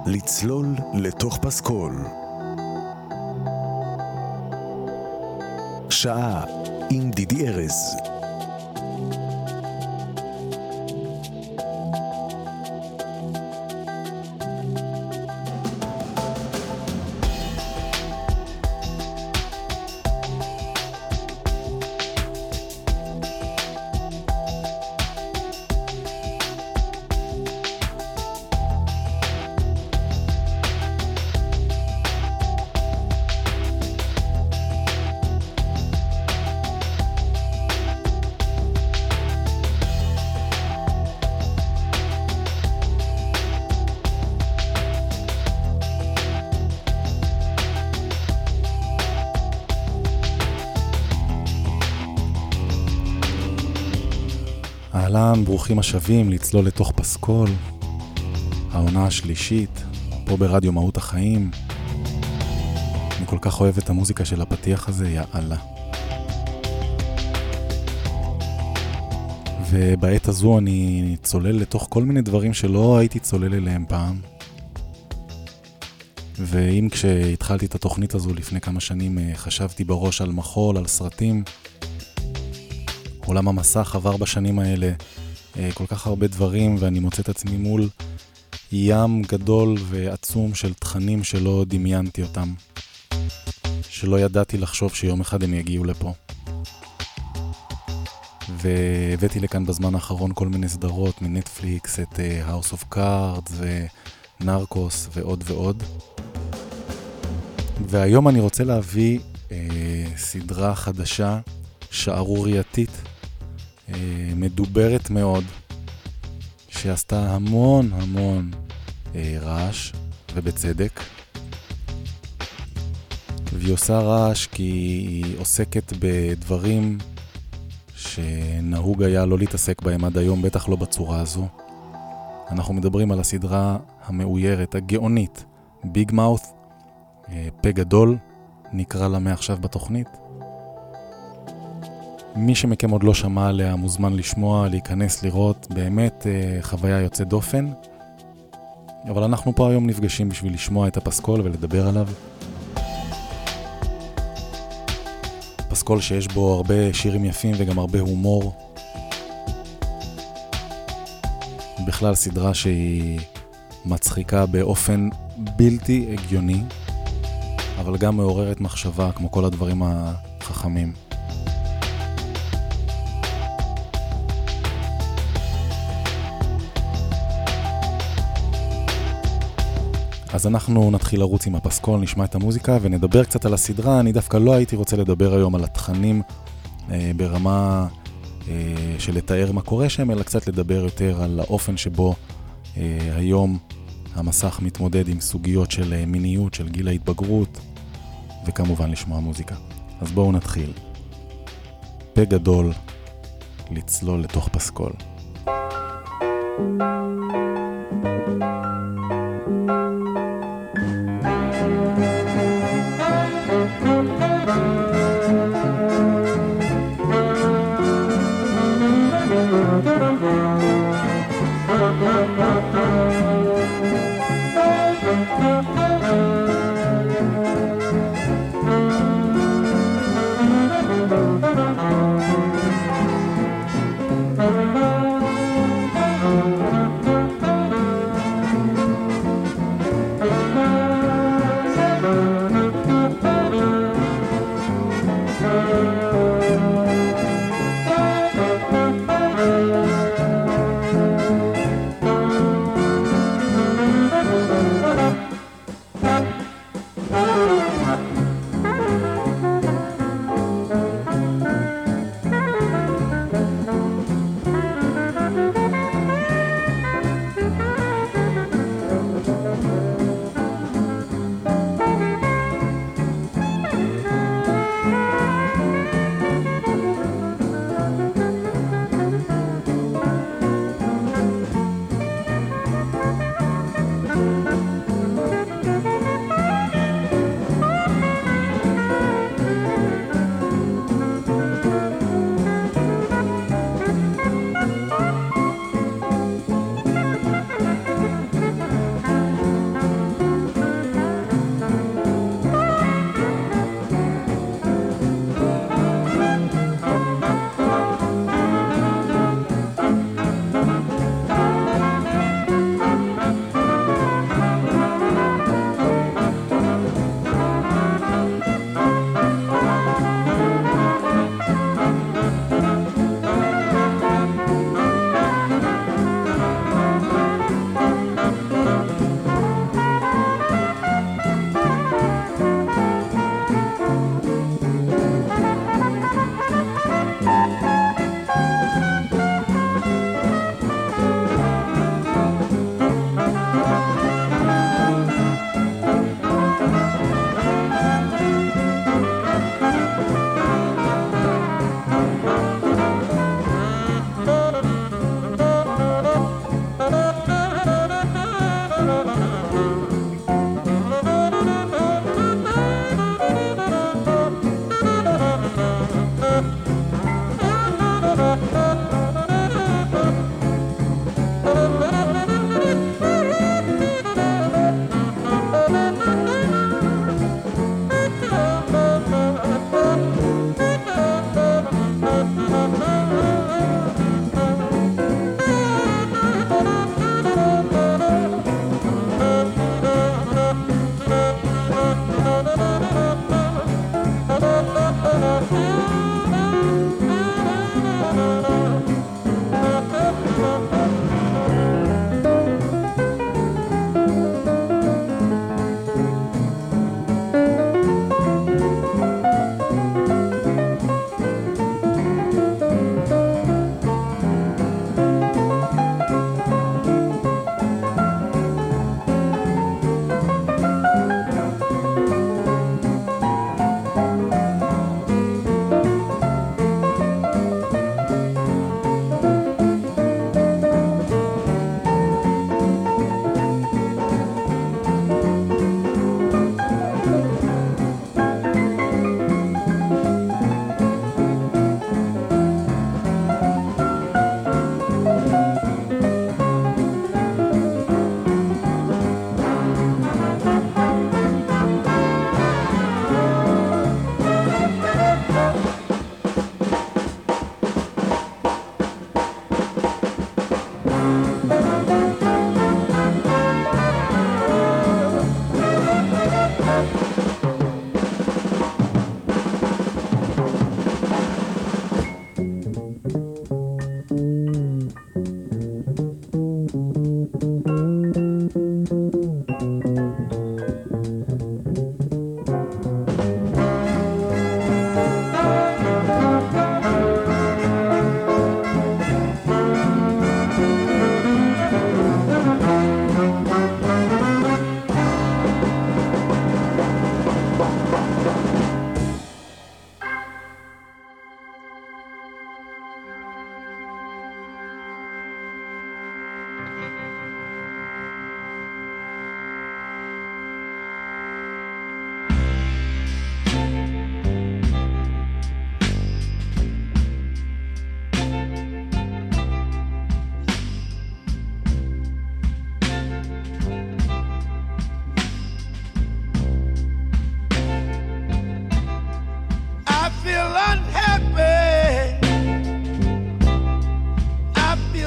לצלול לתוך פסקול. שעה עם דידי ארז. אהלן, ברוכים השבים לצלול לתוך פסקול, העונה השלישית, פה ברדיו מהות החיים. אני כל כך אוהב את המוזיקה של הפתיח הזה, יאללה. ובעת הזו אני צולל לתוך כל מיני דברים שלא הייתי צולל אליהם פעם. ואם כשהתחלתי את התוכנית הזו לפני כמה שנים חשבתי בראש על מחול, על סרטים, עולם המסך עבר בשנים האלה כל כך הרבה דברים, ואני מוצא את עצמי מול ים גדול ועצום של תכנים שלא דמיינתי אותם, שלא ידעתי לחשוב שיום אחד הם יגיעו לפה. והבאתי לכאן בזמן האחרון כל מיני סדרות מנטפליקס, את House of Cards ונרקוס ועוד ועוד. והיום אני רוצה להביא סדרה חדשה, שערורייתית, מדוברת מאוד, שעשתה המון רעש, ובצדק. והיא עושה רעש כי היא עוסקת בדברים שנהוג היה לא להתעסק בהם עד היום, בטח לא בצורה הזו. אנחנו מדברים על הסדרה המאוירת, הגאונית, ביג מאות', פה גדול, נקרא לה מעכשיו בתוכנית. מי שמכם עוד לא שמע עליה מוזמן לשמוע, להיכנס, לראות, באמת חוויה יוצאת דופן. אבל אנחנו פה היום נפגשים בשביל לשמוע את הפסקול ולדבר עליו. פסקול שיש בו הרבה שירים יפים וגם הרבה הומור. בכלל סדרה שהיא מצחיקה באופן בלתי הגיוני, אבל גם מעוררת מחשבה כמו כל הדברים החכמים. אז אנחנו נתחיל לרוץ עם הפסקול, נשמע את המוזיקה ונדבר קצת על הסדרה. אני דווקא לא הייתי רוצה לדבר היום על התכנים ברמה של לתאר מה קורה שם, אלא קצת לדבר יותר על האופן שבו היום המסך מתמודד עם סוגיות של מיניות, של גיל ההתבגרות, וכמובן לשמוע מוזיקה. אז בואו נתחיל. פה גדול, לצלול לתוך פסקול.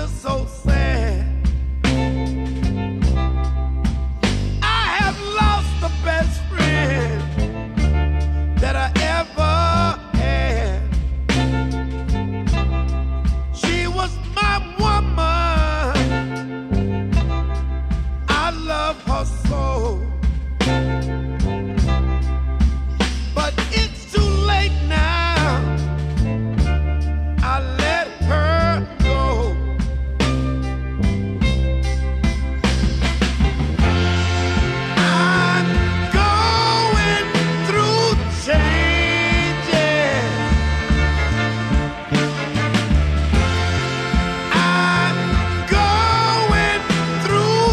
feel so sad. I have lost the best friend that I ever had. She was my woman. I love her so. But it's too late now. I let her go. I'm going through changes. I'm going through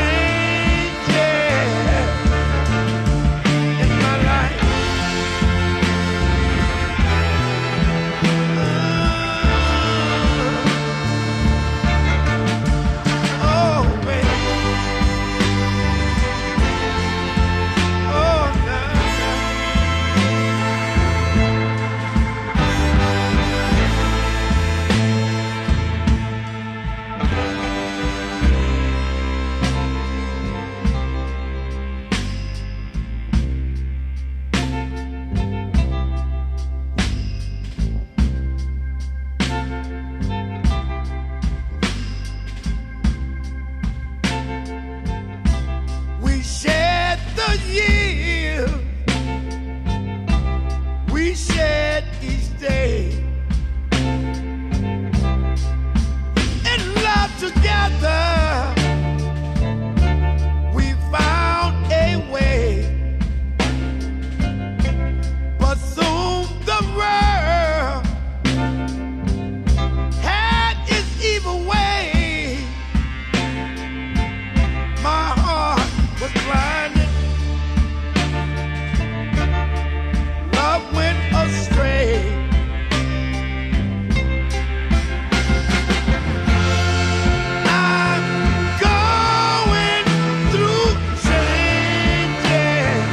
changes in my life. Oh, baby. Oh, nah, we shared the years, we shared each day, in love together. We found a way, but soon the world had its evil way. My heart was blinded. Love went astray. I'm going through changes.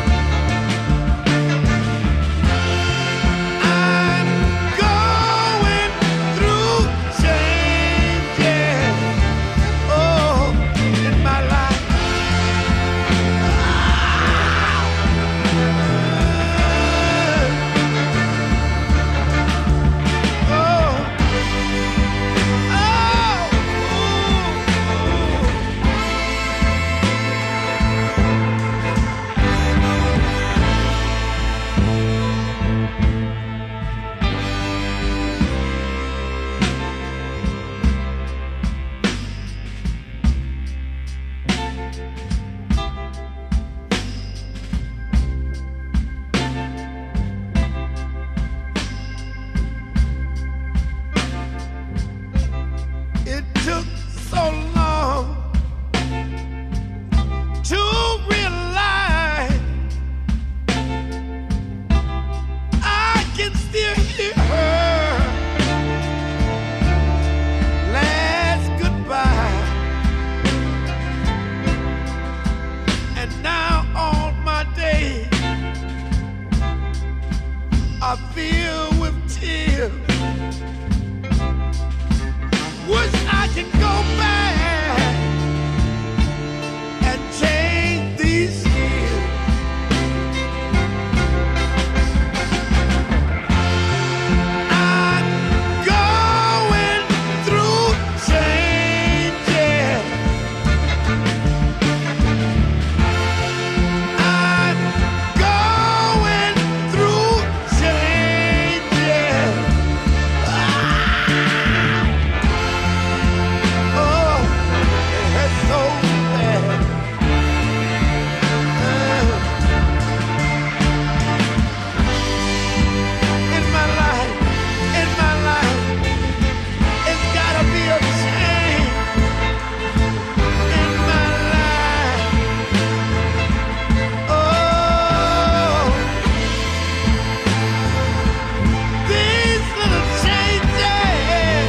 I'm going through changes. Oh, in my life. It took so long to realize I can still hear her last goodbye. And now all my days are filled with tears. Wish I could go back and change these years. I'm going through changes. I'm going through changes. Oh, it's so bad. In my life, it's gotta be a change. In my life, oh, these little changes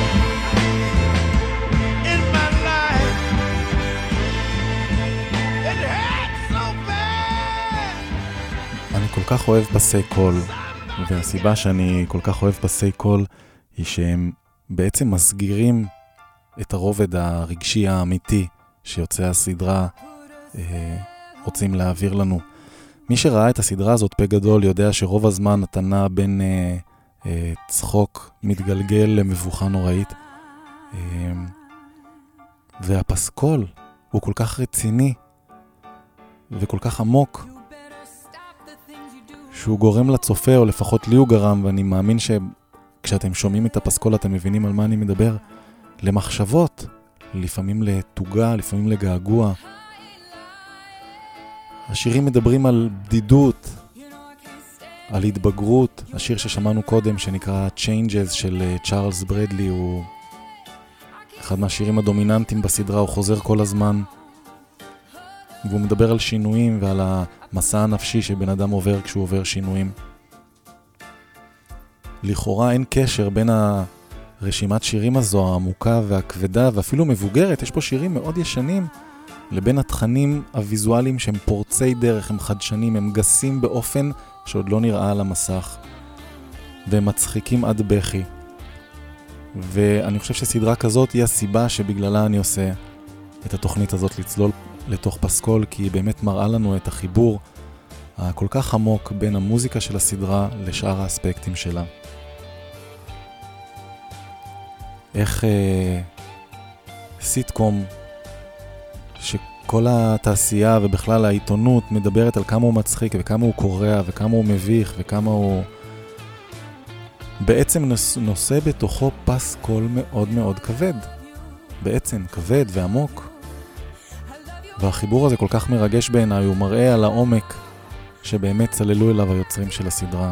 in my life, it hurts so bad. אני כל כך אוהב פסי קול, והסיבה שאני כל כך אוהב פסי קול היא שהם בעצם מסגירים את הרובד הרגשי האמיתי שיוצא הסדרה רוצים להעביר לנו. מי שראה את הסדרה הזאת פה גדול יודע שרוב הזמן אתה נע בין צחוק מתגלגל למבוכה נוראית. והפסקול הוא כל כך רציני וכל כך עמוק שהוא גורם לצופה, או לפחות לי הוא גרם, ואני מאמין שכשאתם שומעים את הפסקול אתם מבינים על מה אני מדבר, למחשבות, לפעמים לתוגה, לפעמים לגעגוע. השירים מדברים על בדידות, על התבגרות. השיר ששמענו קודם שנקרא Changes של צ'ארלס ברדלי הוא אחד מהשירים הדומיננטיים בסדרה, הוא חוזר כל הזמן והוא מדבר על שינויים ועל המסע הנפשי שבן אדם עובר כשהוא עובר שינויים. לכאורה אין קשר בין הרשימת שירים הזו העמוקה והכבדה ואפילו מבוגרת, יש פה שירים מאוד ישנים, לבין התכנים הוויזואליים שהם פורצי דרך, הם חדשנים, הם גסים באופן שעוד לא נראה על המסך והם מצחיקים עד בכי. ואני חושב שסדרה כזאת היא הסיבה שבגללה אני עושה את התוכנית הזאת, לצלול לתוך פסקול, כי היא באמת מראה לנו את החיבור הכל כך עמוק בין המוזיקה של הסדרה לשאר האספקטים שלה. איך סיטקום שכל התעשייה ובכלל העיתונות מדברת על כמה הוא מצחיק וכמה הוא קורע וכמה הוא מביך וכמה הוא בעצם נושא בתוכו פסקול מאוד מאוד כבד, בעצם כבד ועמוק, והחיבור הזה כל כך מרגש בעיניי, הוא מראה על העומק שבאמת צללו אליו היוצרים של הסדרה.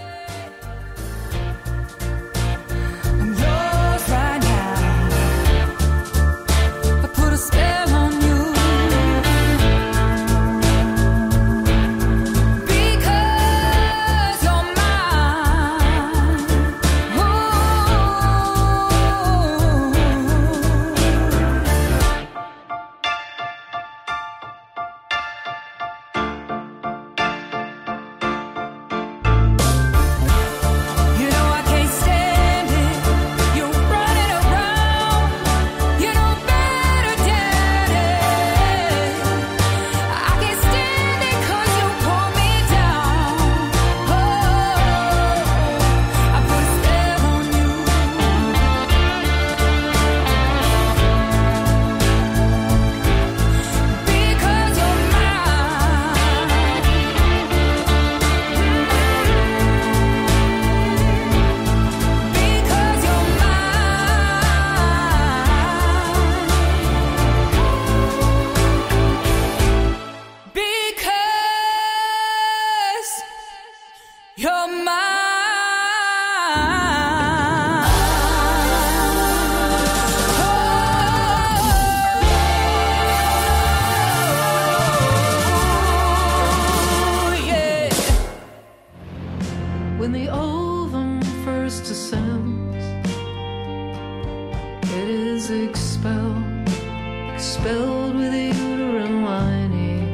Expelled with a uterine lining,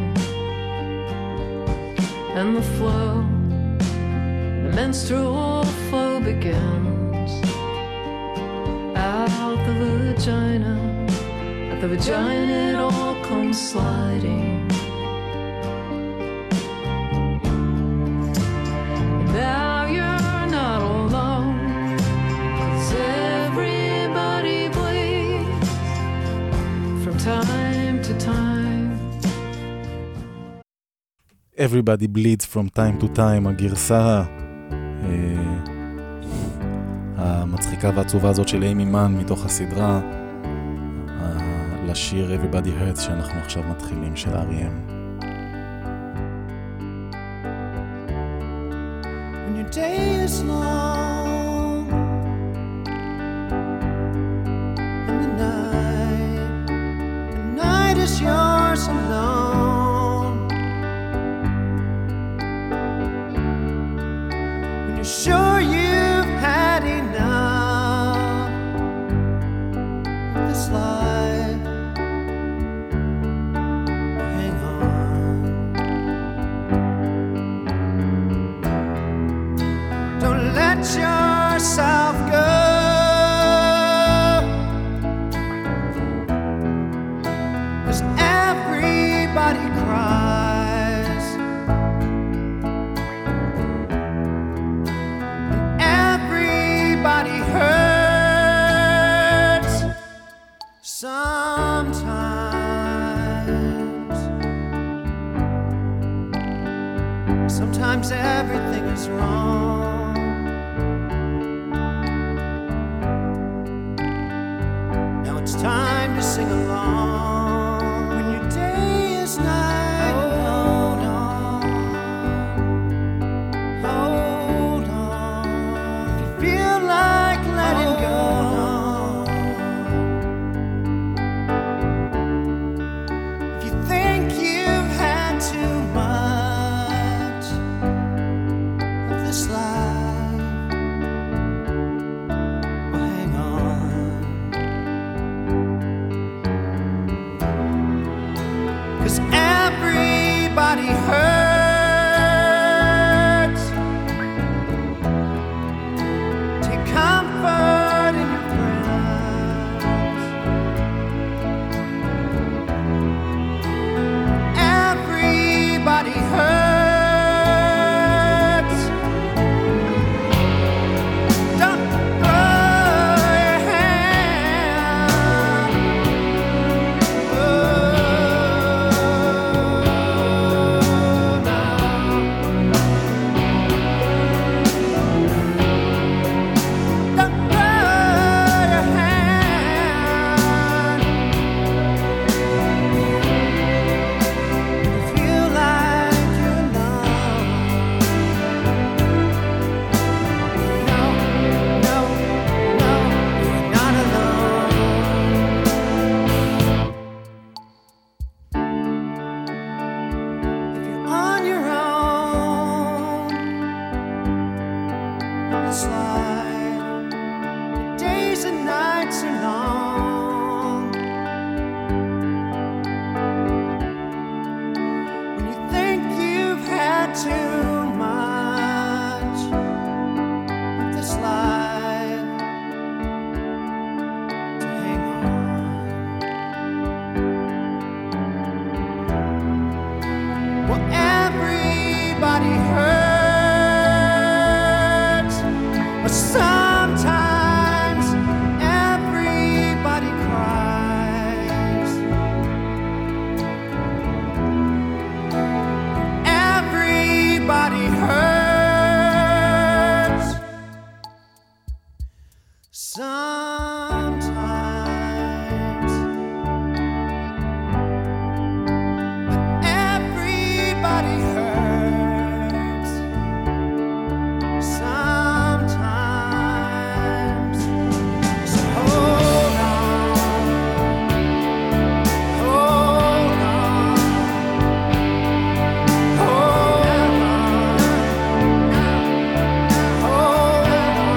and the flow, the menstrual flow begins out the vagina. At the vagina it all comes sliding. And now you're not alone, 'cause everybody bleeds from time to time. Everybody bleeds from time to time, הגרסה המצחיקה והעצובה הזאת של אימי מן מתוך הסדרה לשיר Everybody Hurts שאנחנו עכשיו מתחילים של R.E.M. When your day is long and the night is yours alone, when you're sure you've had enough of this life, hang on. Don't let yourself go. Sometimes everything is wrong. Now it's time to sing along. When your day is night, hold on, hold on. If you feel like letting go, if you think you've had too much of this life, well, hang on. 'Cause everybody hurts. Take comfort in your friends. Everybody hurts. Don't throw your hand. Oh, no. Don't throw your hand. You feel like you're alone. No, no, no, you're not alone. If you're on your own in this life, your days and nights are long. When you think you've had too much of this life, to hang on. Well, everybody hurts, but sometimes everybody cries. Everybody hurts sometimes. Everybody hurts sometimes. So hold on, hold on, hold on, hold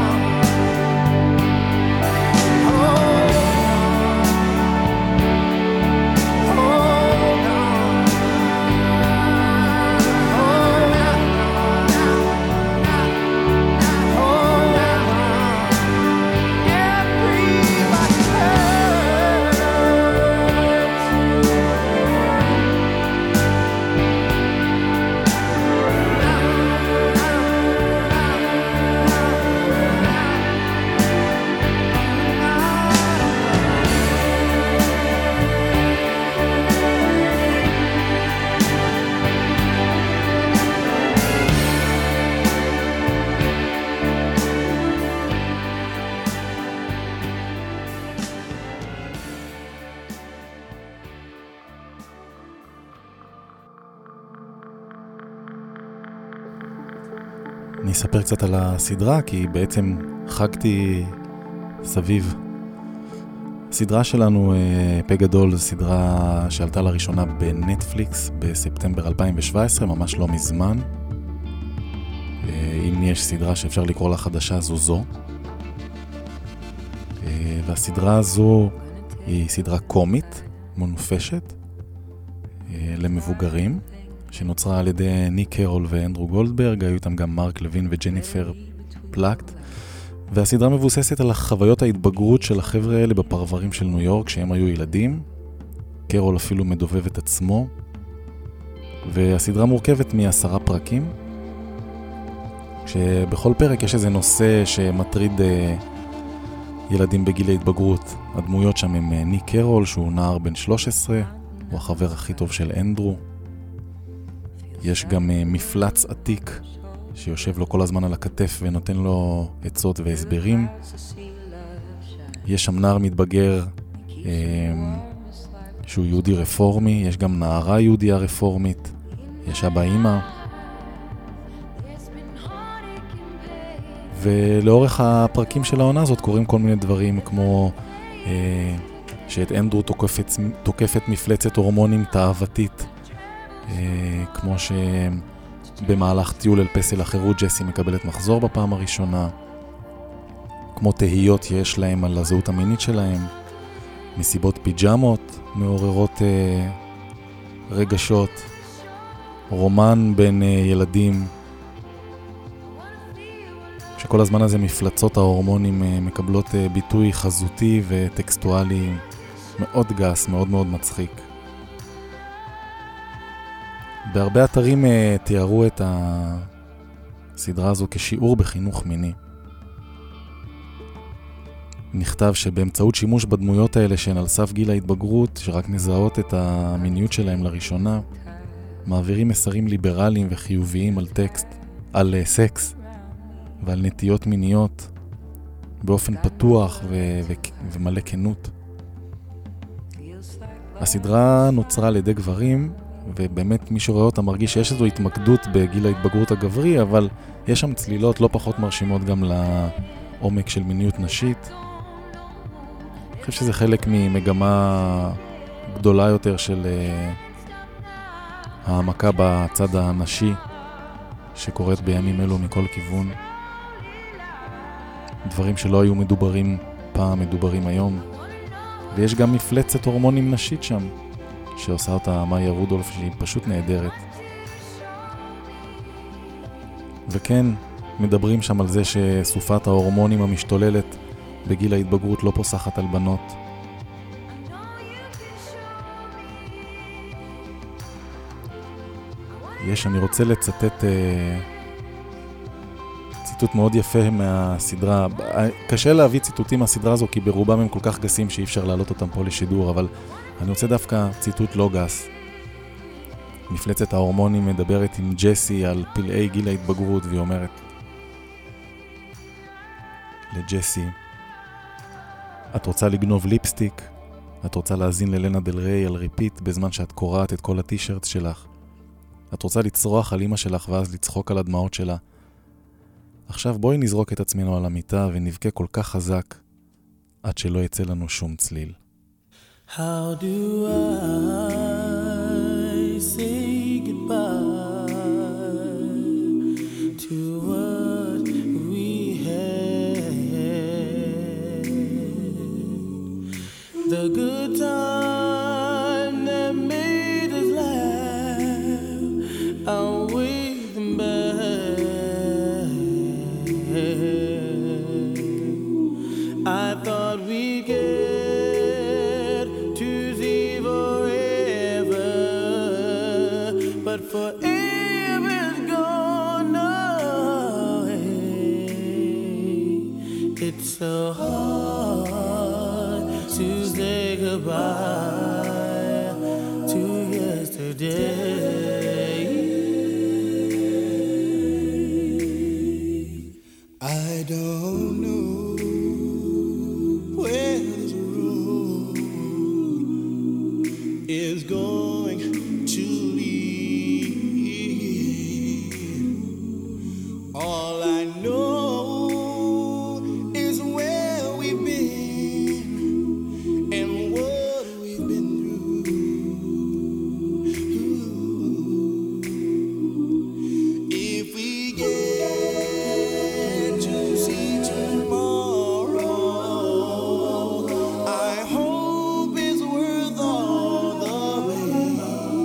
אני אספר קצת על הסדרה, כי בעצם חגתי סביב. הסדרה שלנו, פה גדול, זו סדרה שעלתה לראשונה בנטפליקס בספטמבר 2017, ממש לא מזמן. אם יש סדרה שאפשר לקרוא לה חדשה, זו. והסדרה הזו היא סדרה קומית, מונפשת, למבוגרים, שנוצרה על ידי ניק קרול ואנדרו גולדברג, היו איתם גם מרק לוין וג'ניפר פלקט, והסדרה מבוססת על החוויות ההתבגרות של החבר'ה האלה בפרברים של ניו יורק, שהם היו ילדים. קרול אפילו מדובב את עצמו, והסדרה מורכבת מ10 פרקים, שבכל פרק יש איזה נושא שמטריד ילדים בגיל ההתבגרות. הדמויות שם הם ניק קרול, שהוא נער בן 13, הוא החבר הכי טוב של אנדרו. יש גם מפלץ עתיק שיושב לו כל הזמן על הכתף ונותן לו עצות והסברים. יש שם נער מתבגר שהוא יהודי רפורמי, יש גם נערה יהודיה רפורמית, יש אבא אמא. ולאורך הפרקים של העונה הזאת קורים כל מיני דברים כמו שאת אנדרו תוקפת מפלצת הורמונים תאוותית, כמו שבמהלך טיול אל פסל החירות ג'סי מקבלת מחזור בפעם הראשונה, כמו תהיות יש להם על הזהות המינית שלהם, מסיבות פיג'מות מעוררות רגשות, רומן בין ילדים, שכל הזמן הזה מפלצות ההורמונים מקבלות ביטוי חזותי וטקסטואלי מאוד גס, מאוד מאוד מצחיק. בהרבה אתרים תיארו את הסדרה הזו כשיעור בחינוך מיני. נכתב שבאמצעות שימוש בדמויות האלה שהן על סף גיל ההתבגרות, שרק מזהות את המיניות שלהם לראשונה, מעבירים מסרים ליברליים וחיוביים על סקס ועל נטיות מיניות באופן פתוח ומלא כנות. הסדרה נוצרה על ידי גברים, ובאמת מי שרואה אותה מרגיש שיש איזו התמקדות בגיל ההתבגרות הגברי, אבל יש שם צלילות לא פחות מרשימות גם לעומק של מיניות נשית. אני חושב שזה חלק ממגמה גדולה יותר של העמקה בצד הנשי שקורית בימים אלו מכל כיוון. דברים שלא היו מדוברים פעם מדוברים היום. ויש גם מפלצת הורמונים נשית שם, שעושה אותה מאיה רודולף, שהיא פשוט נהדרת. וכן, מדברים שם על זה שסופת ההורמונים המשתוללת בגיל ההתבגרות לא פוסחת על בנות. אני רוצה לצטט ציטוט מאוד יפה מהסדרה. קשה להביא ציטוטים מהסדרה הזו כי ברובם הם כל כך גסים שאי אפשר להעלות אותם פה לשידור, אבל אני רוצה דווקא ציטוט לא גס. מפלצת ההורמונים מדברת עם ג'סי על פלאי גיל ההתבגרות, והיא אומרת לג'סי, את רוצה לגנוב ליפסטיק? את רוצה להזין ללנה דל ריי על ריפיט בזמן שאת קוראת את כל הטישרט שלך? את רוצה לצרוח על אמא שלך ואז לצחוק על הדמעות שלה? עכשיו בואי נזרוק את עצמנו על המיטה ונבכה כל כך חזק עד שלא יצא לנו שום צליל. How do I say goodbye to what we had? The good time that made us laugh, I'll wait them back. I thought we'd get to see forever, but forever's gone away. It's so hard to say goodbye to yesterday. I don't know where this road is going to lead. All I know is where we've been and what we've been through. If we get to see tomorrow, I hope it's worth all the pain.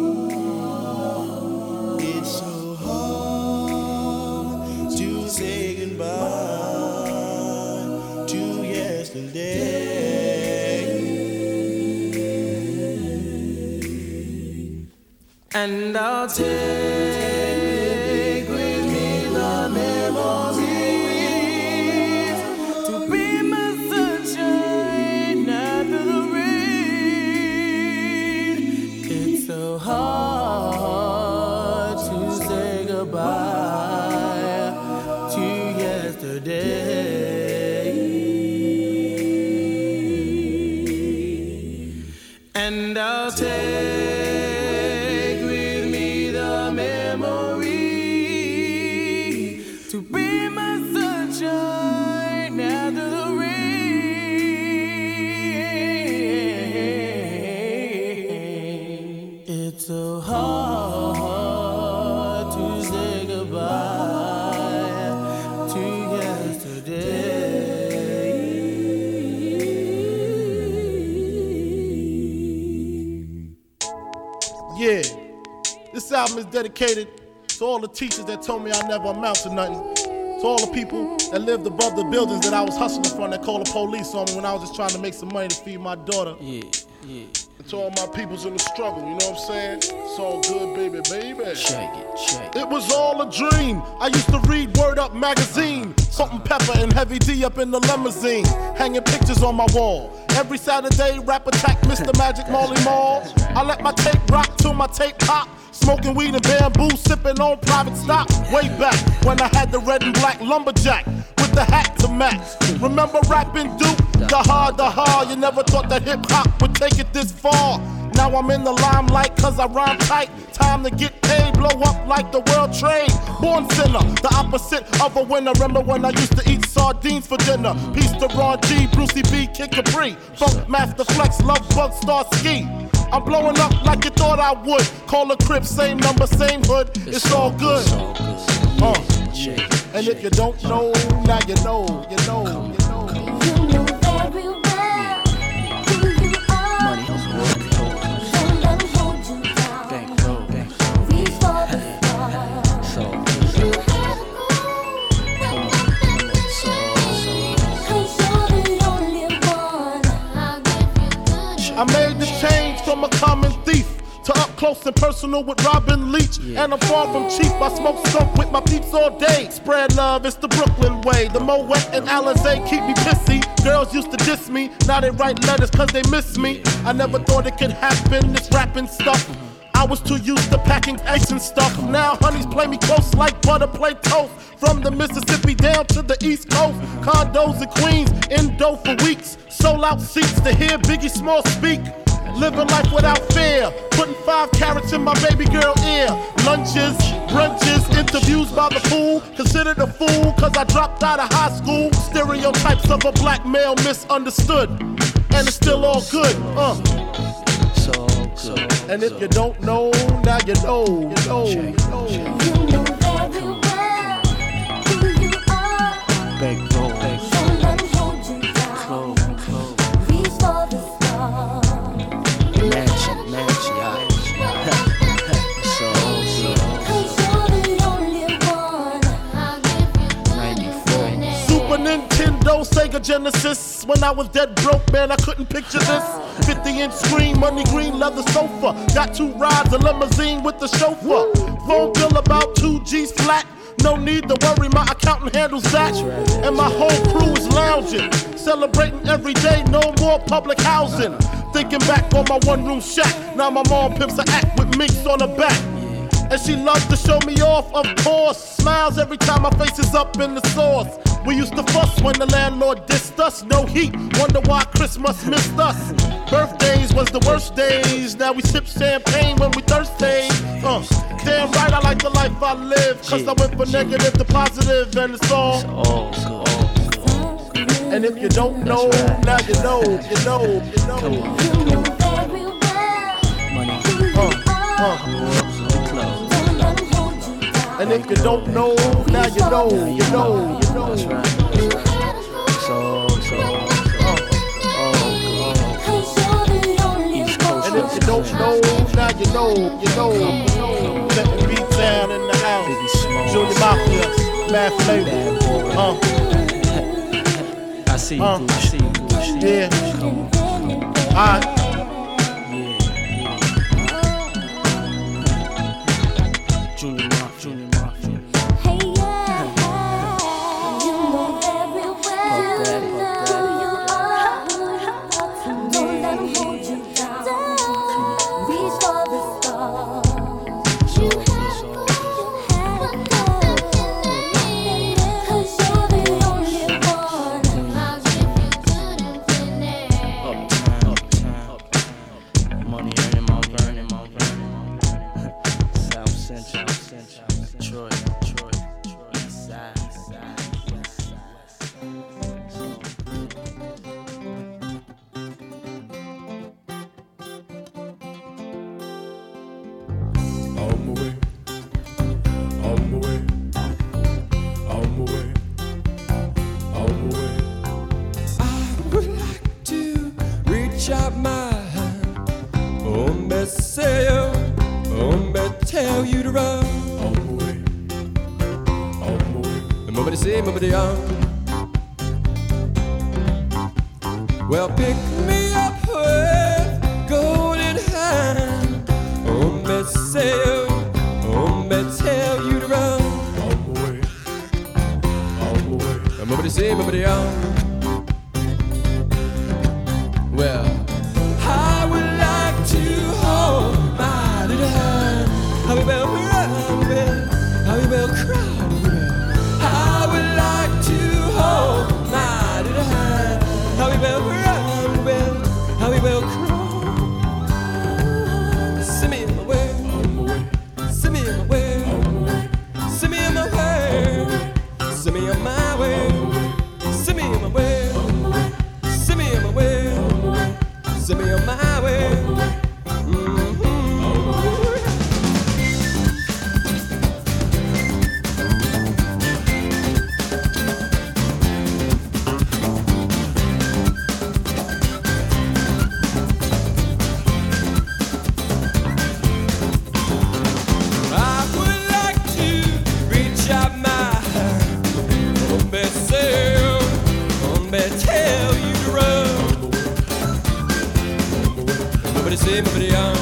It's so hard to say goodbye to yesterday. And I'll take with me the memories to be my sunshine after the rain. It's so hard to And I'll take with me the memory to be my sunshine after the rain. It's so hard to say goodbye to yesterday. Yeah, this album is dedicated to all the teachers that told me I never amount to nothing. To all the people that lived above the buildings that I was hustling from that called the police on me when I was just trying to make some money to feed my daughter. Yeah, yeah. And to all my peoples in the struggle, you know what I'm saying? It's all good, baby, baby. Shake it, shake it. It was all a dream. I used to read Word Up magazine. Salt and Pepper and Heavy D up in the limousine. Hanging pictures on my wall. Every Saturday, Rap Attack, Mr. Magic, Marley Marl. I let my tape rock till my tape pop. Smoking weed and bamboo, sipping on private stock. Way back when I had the red and black lumberjack with the hat to match. Remember rapping Duke? The hard, you never thought that hip hop would take it this far. Now I'm in the limelight cause I rhyme tight. Time to get paid, blow up like the world trade. Born sinner, the opposite of a winner. Remember when I used to eat sardines for dinner? Peace to Ron G, Brucey B, Kid Capri, Funk Master Flex, Love Bug, Star Ski. I'm blowing up like you thought I would. Call a crib, same number, same hood. It's all good. And if you don't know, now you know, you know, you know. You know very well who you are. Money, don't let them hold you down. Reach for the stars. You have cause you're the only one. I made this change from a common thief to up close and personal with Robin Leach. And I'm far from cheap, I smoke skunk with my peeps all day. Spread love, it's the Brooklyn way. The Moet and Alizé keep me pissy. Girls used to diss me, now they write letters cause they miss me. I never thought it could happen, this rapping stuff. I was too used to packing ice and stuff. Now honeys play me close like butter play toast. From the Mississippi down to the East Coast. Condos in Queens, indo for weeks. Sold out seats to hear Biggie Small speak. Living life without fear, putting 5 carats in my baby girl ear. Lunches, brunches, interviews by the pool. Considered a fool cause I dropped out of high school. Stereotypes of a black male misunderstood. And it's still all good, And if you don't know, now you know, you know, you know. You know very well who you are. Don't let them hold you down. Reach for the stars. Mansion, Cause you're the only one. 94. Super Nintendo, Sega Genesis. When I was dead broke, man, I couldn't picture this. 50-inch screen, money green leather sofa. Got 2 rides, a limousine with the chauffeur. Phone bill about 2 G's flat. No need to worry, my accountant handles that. And my whole crew is lounging, celebrating every day, no more public housing. Thinking back on my one-room shack. Now my mom pimps an act with minks on her back. And she loves to show me off, of course. Smiles every time my face is up in the sauce. We used to fuss when the landlord dissed us. No heat, wonder why Christmas missed us. Birthdays was the worst days. Now we sip champagne when we thirsty. Damn right I like the life I live. Cause I went from negative to positive and it's all good. And if you don't know, now you know, you know, you know. You know very well who you are. Don't let them hold you down. And if you don't know, now you know, you know, you know. Cause you're the only one. And if you don't know, now you know, you know, you know. Let the beat down in the house. Junior Mafia, Mad Flavor. I see you, I see you. Yeah. Alright. Junior Mafia. Hey, yeah. You know very well who you are. Don't let them hold you down. Reach for the stars. You have to cause you're the only one. money, earning my burning, my burning. South Central, Detroit, East Side, West Side. On my way, on my way, on my way, on my way. I would like to reach out my hand, say, tell you to run. On my way, on my way. Nobody say, nobody on. Well, pick me up with golden hand. Say, tell you to run. On my way, on my way. Nobody say, nobody on. Well, I would like to hold my little hand. How we will run, how we will cry. I would like to hold my little hand. How we will run, how we will cry. Send me in my way, send me in my way, send me in my way, send me on my way, send me in my way, send me in my way, send me on my way. Somebody on.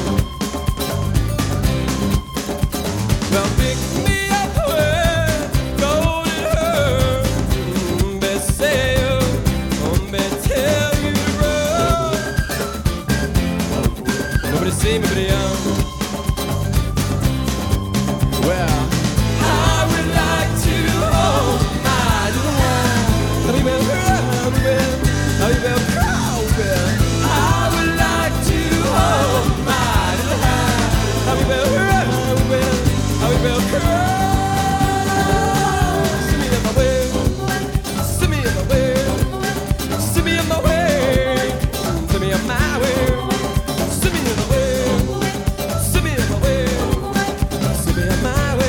Well, pick me up with golden hair. Say, tell you to run. Nobody see me, nobody on. Well, I would like to hold my little hand. How we will run, how we will crawl, I would like to hold my little hand. How we will run, how we will crawl. See me in my way, see me in my way, see me in my way, see me in my way, see me in my way, see me in my way, see me in my way.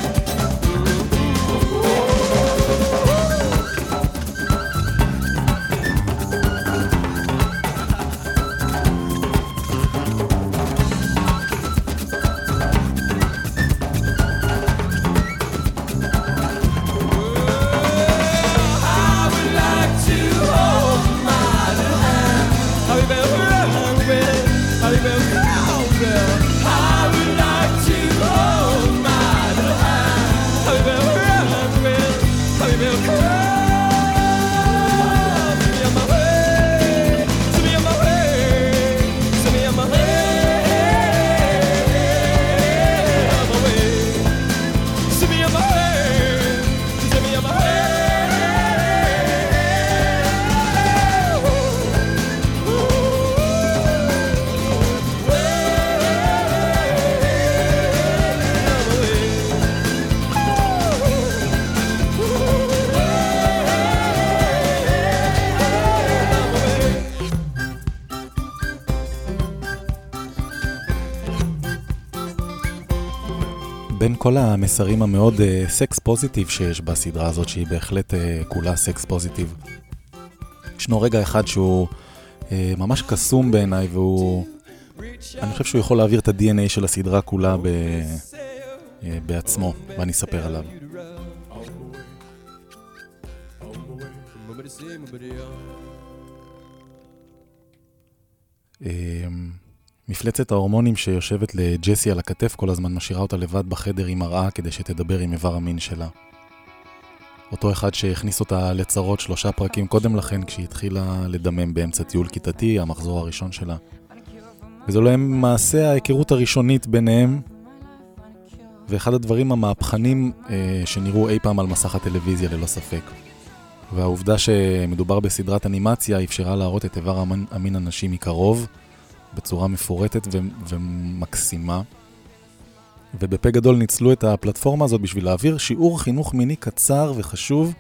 בין כל המסרים המאוד סקס פוזיטיב שיש בסדרה הזאת, שהיא בהחלט כולה סקס פוזיטיב, ישנו רגע אחד שהוא ממש קסום בעיניי, והוא, אני חושב שהוא יכול להעביר את ה-DNA של הסדרה כולה בעצמו, ואני אספר עליו. מפלצת ההורמונים שיושבת לג'סי על הכתף כל הזמן משאירה אותה לבד בחדר עם מראה כדי שתדבר עם איבר המין שלה. אותו אחד שהכניס אותה לצרות 3 פרקים קודם לכן כשהיא התחילה לדמם באמצע טיול כיתתי, המחזור הראשון שלה. וזו להם מעשה ההיכרות הראשונית ביניהם, ואחד הדברים המהפכנים שנראו אי פעם על מסך הטלוויזיה ללא ספק. והעובדה שמדובר בסדרת אנימציה אפשרה להראות את איבר המין הנשי מקרוב, בצורה מפורטת ומקסימה. ובפה גדול ניצלו את הפלטפורמה הזאת בשביל להעביר שיעור חינוך מיני קצר וחשוב,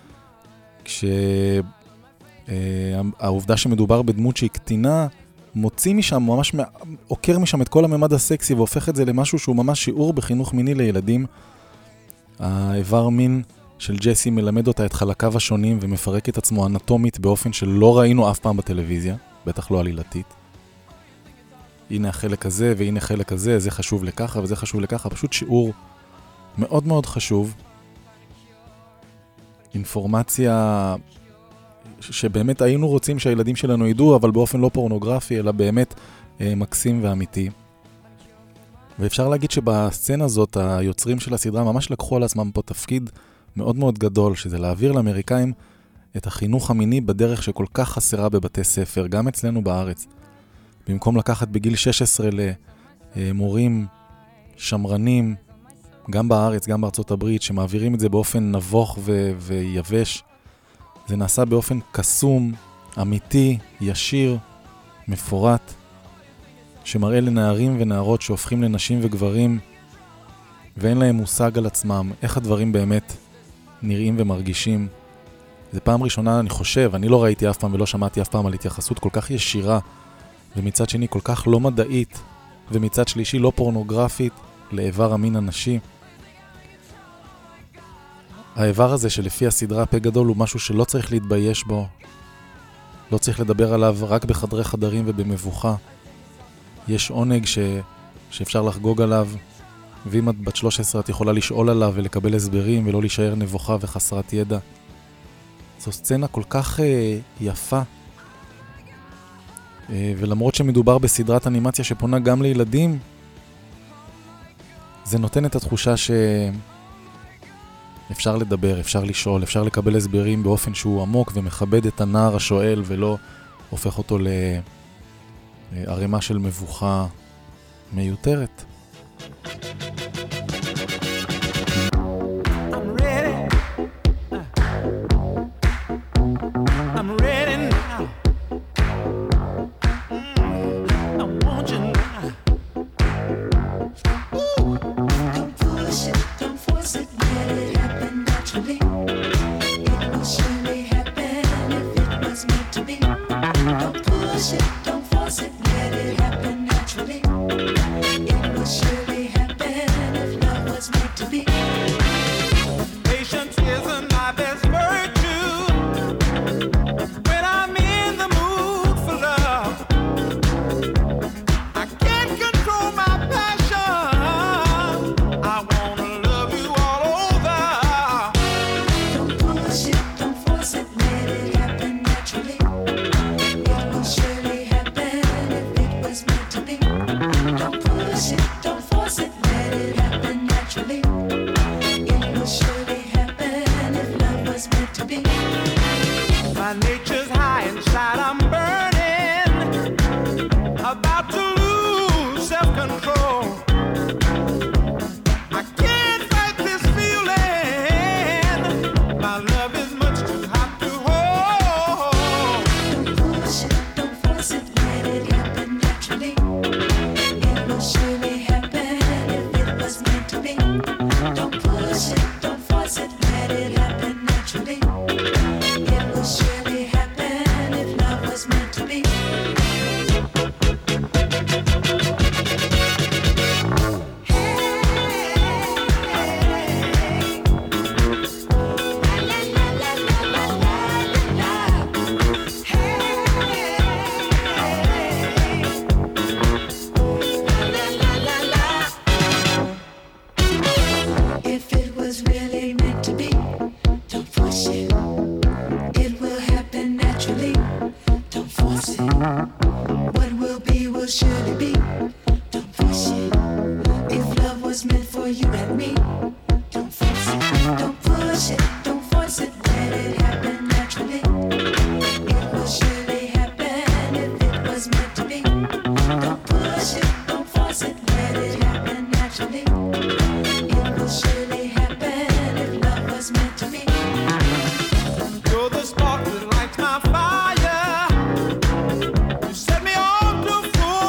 כשהעובדה שמדובר בדמות שהיא קטינה, מוציא משם, ממש עוקר משם את כל הממד הסקסי והופך את זה למשהו שהוא ממש שיעור בחינוך מיני לילדים. האיבר מין של ג'סי מלמד אותה את חלקיו השונים ומפרק את עצמו אנטומית באופן שלא ראינו אף פעם בטלוויזיה, בטח לא עלילתית. הנה החלק הזה והנה חלק הזה, זה חשוב לככה וזה חשוב לככה, פשוט שיעור מאוד מאוד חשוב. אינפורמציה שבאמת היינו רוצים שהילדים שלנו ידעו, אבל באופן לא פורנוגרפי, אלא באמת מקסים ואמיתי. ואפשר להגיד שבסצנה הזאת, היוצרים של הסדרה ממש לקחו על עצמם פה תפקיד מאוד מאוד גדול, שזה להעביר לאמריקאים את החינוך המיני בדרך שכל כך חסרה בבתי ספר, גם אצלנו בארץ. במקום לקחת בגיל 16 למורים שמרנים, גם בארץ, גם בארצות הברית, שמעבירים את זה באופן נבוך ויבש, זה נעשה באופן קסום, אמיתי, ישיר, מפורט, שמראה לנערים ונערות שהופכים לנשים וגברים, ואין להם מושג על עצמם, איך הדברים באמת נראים ומרגישים. זה פעם ראשונה, אני חושב, אני לא ראיתי אף פעם ולא שמעתי אף פעם על התייחסות כל כך ישירה, ומצד שני כל כך לא מדעית, ומצד שלישי לא פורנוגרפית, לאיבר המין הנשי. האיבר הזה שלפי הסדרה פה גדול הוא משהו שלא צריך להתבייש בו, לא צריך לדבר עליו רק בחדרי חדרים ובמבוכה. יש עונג שאפשר לחגוג עליו, ואם את בת 13 את יכולה לשאול עליו ולקבל הסברים ולא להישאר נבוכה וחסרת ידע. זו סצנה כל כך יפה, ולמרות שמדובר בסדרת אנימציה שפונה גם לילדים, זה נותן את התחושה שאפשר לדבר, אפשר לשאול, אפשר לקבל הסברים באופן שהוא עמוק ומכבד את הנער השואל ולא הופך אותו לערימה של מבוכה מיותרת. Set me on to full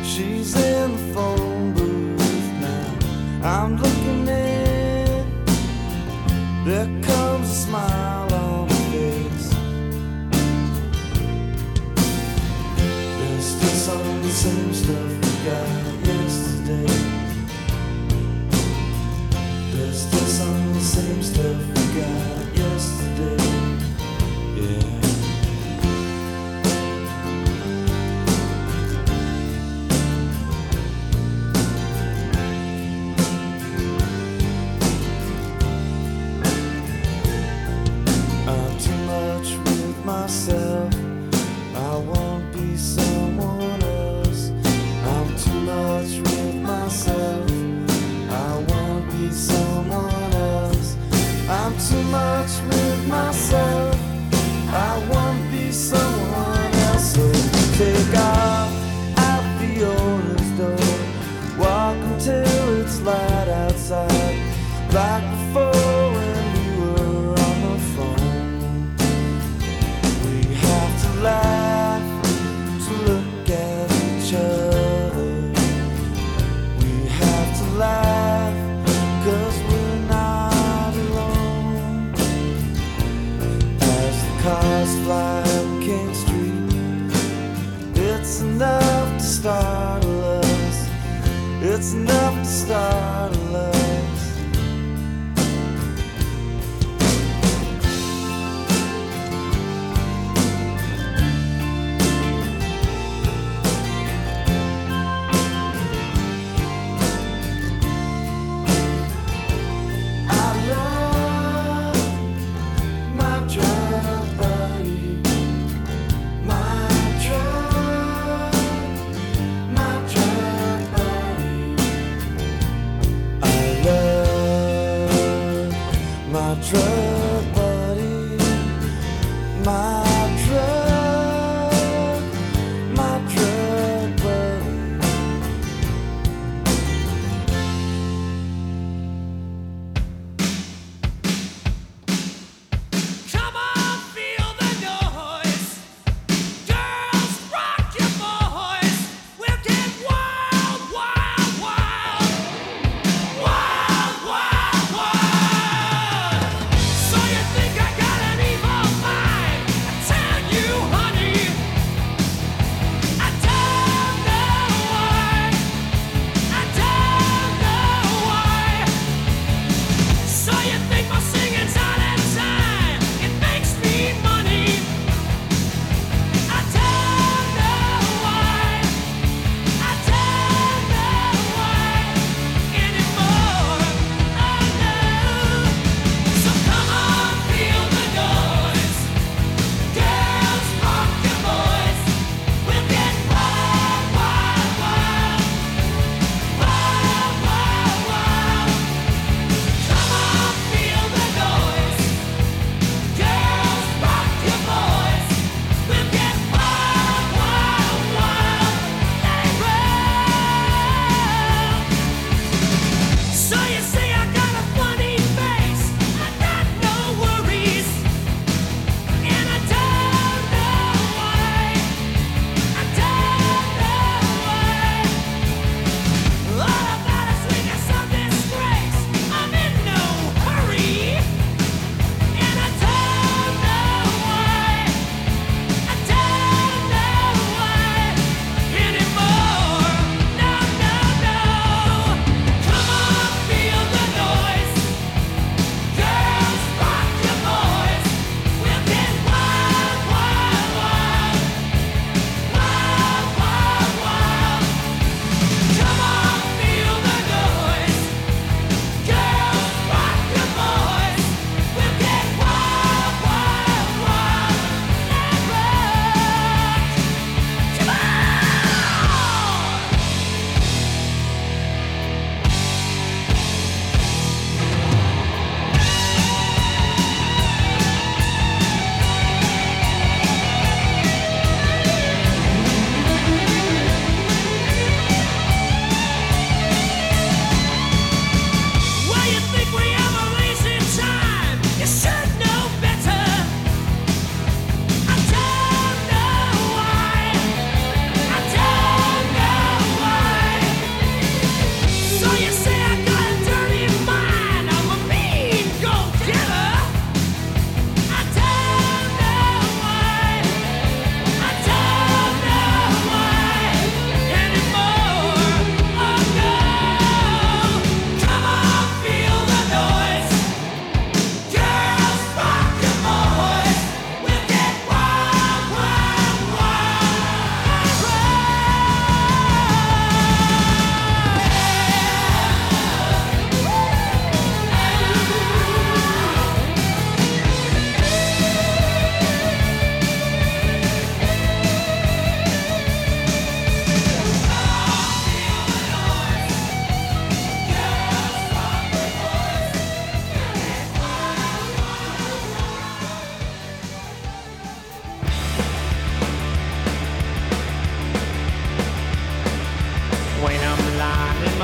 She's in the phone booth now. I'm looking in. There comes a smile on her face. There's still some of the same stuff we got yesterday. There's still some of the same stuff we got yesterday. Yeah. Myself, I won't be someone else. I'm too much with myself. I won't be someone else. I'm too much with myself. I won't be someone else. So take off out the owner's door. Walk until it's light outside, like before when we were on the phone. Laugh to look at each other. We have to laugh 'cause we're not alone. As the cars fly up King Street, it's enough to startle us. It's enough to startle us. I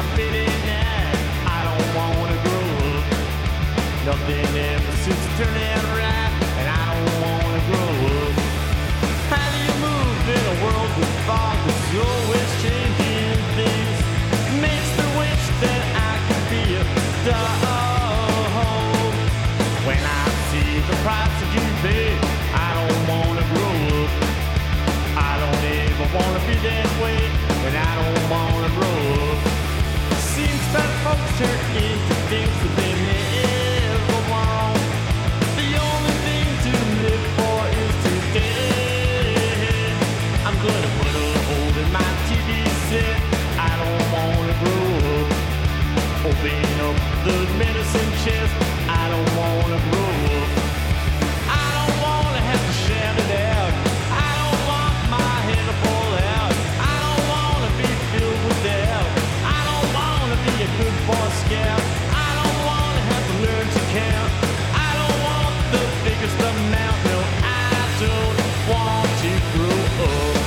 fit in that. I don't wanna grow up. Nothing ever seems to turn out right, and I don't wanna grow up. How do you move in a world with fog that's always changing things? Makes me wish that I could be a dog. When I see the price that you pay, I don't wanna grow up. I don't ever wanna be that way, and I don't wanna grow up. Seems that folks turn into things that they never want. The only thing to live for is today. I'm gonna put a hole in my TV set. I don't wanna grow up. Open up the medicine chest. I don't wanna grow up. I don't wanna have to shout it out. I don't want my head to fall out. I don't wanna be filled with doubt. I don't wanna be a good boy scout. I don't wanna have to learn to count. I don't want the biggest amount. No, I don't want to grow up.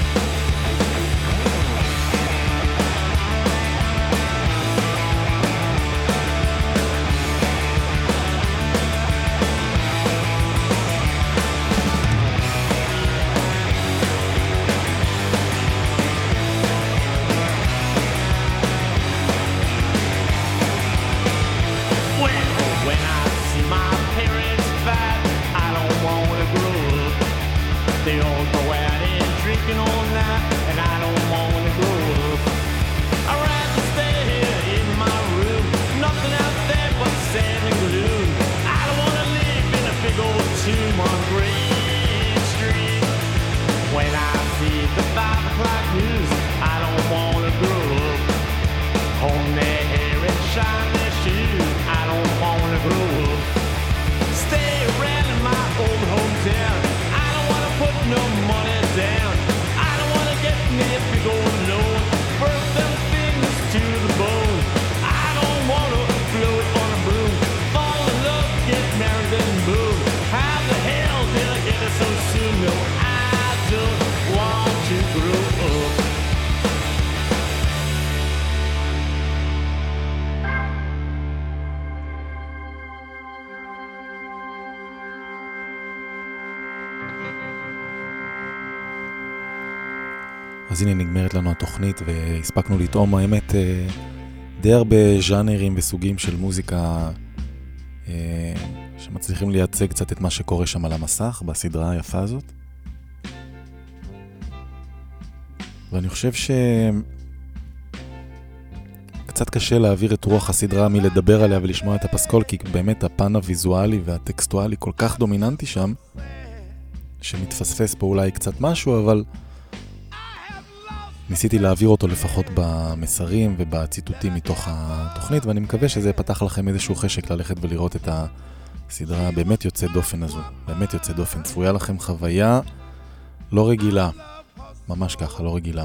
When I see my parents fight, I don't wanna grow up. They all go out and drinking all night, and I don't wanna grow up. I'd rather stay here in my room, nothing out there but sand and gloom. I don't wanna live in a big old tomb on Green Street. When I see the 5 o'clock news, I don't wanna grow up. Comb their hair and shine their shoes, I don't wanna grow up. Stay around in my old hometown. I don't wanna put no money down. I don't wanna get me a big old loan. Burn them fingers to the bone. I don't wanna float on a broom. Fall in love, get married and move. How the hell did I get it so soon? No, I don't want to grow up. אז הנה נגמרת לנו התוכנית והספקנו לטעום האמת די הרבה ז'אנרים וסוגים של מוזיקה שמצליחים לייצג קצת את מה שקורה שם על המסך בסדרה היפה הזאת. ואני חושב קצת קשה להעביר את רוח הסדרה מלדבר עליה ולשמוע את הפסקול, כי באמת הפן הוויזואלי והטקסטואלי כל כך דומיננטי שם שמתפספס פה אולי קצת משהו, אבל ניסיתי להעביר אותו לפחות במסרים ובציטוטים מתוך התוכנית, ואני מקווה שזה פתח לכם איזשהו חשק ללכת ולראות את הסדרה באמת יוצא דופן הזו. באמת יוצא דופן. צפויה לכם חוויה לא רגילה. ממש ככה, לא רגילה.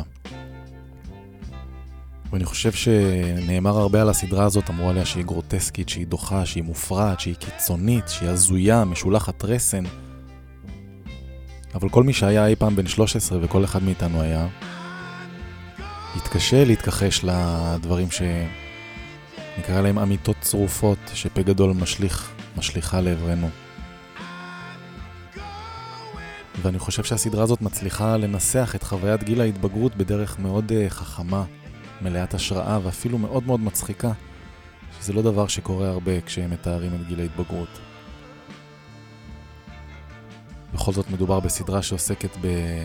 ואני חושב שנאמר הרבה על הסדרה הזאת, אמרו עליה שהיא גרוטסקית, שהיא דוחה, שהיא מופרעת, שהיא קיצונית, שהיא הזויה, משולחת רסן. אבל כל מי שהיה אי פעם בן 13 וכל אחד מאיתנו היה, התקשה להתכחש לדברים שנקרא להם אמיתות צרופות שפה גדול משליחה לעברנו. ואני חושב שהסדרה הזאת מצליחה לנסח את חוויית גיל ההתבגרות בדרך מאוד חכמה, מלאת השראה ואפילו מאוד מאוד מצחיקה, שזה לא דבר שקורה הרבה כשהם מתארים את גיל ההתבגרות. בכל זאת מדובר בסדרה שעוסקת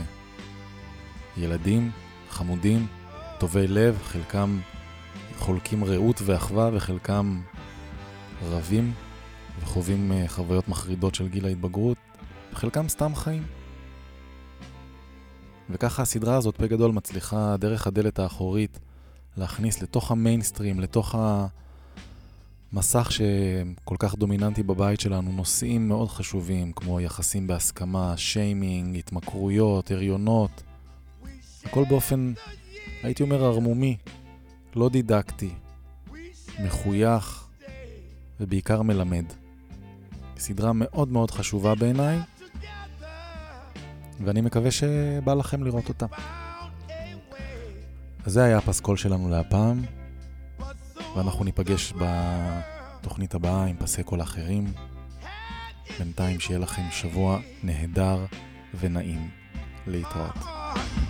בילדים חמודים, טובי לב, חלקם חולקים רעות ואחווה וחלקם רבים וחווים חוויות מחרידות של גיל ההתבגרות, וחלקם סתם חיים. וככה הסדרה הזאת פה גדול מצליחה דרך הדלת האחורית להכניס לתוך המיינסטרים, לתוך המסך שכל כך דומיננטי בבית שלנו, נושאים מאוד חשובים כמו יחסים בהסכמה, שיימינג, התמכרויות, הריונות, הכל באופן, הייתי אומר, הרמומי, לא דידקטי, מחוייך ובעיקר מלמד. סדרה מאוד מאוד חשובה בעיניי, ואני מקווה שבא לכם לראות אותה. אז זה היה הפסקול שלנו להפעם. ואנחנו ניפגש בתוכנית הבאה עם פסי קול אחרים. בינתיים שיהיה לכם שבוע נהדר ונעים. להתראות.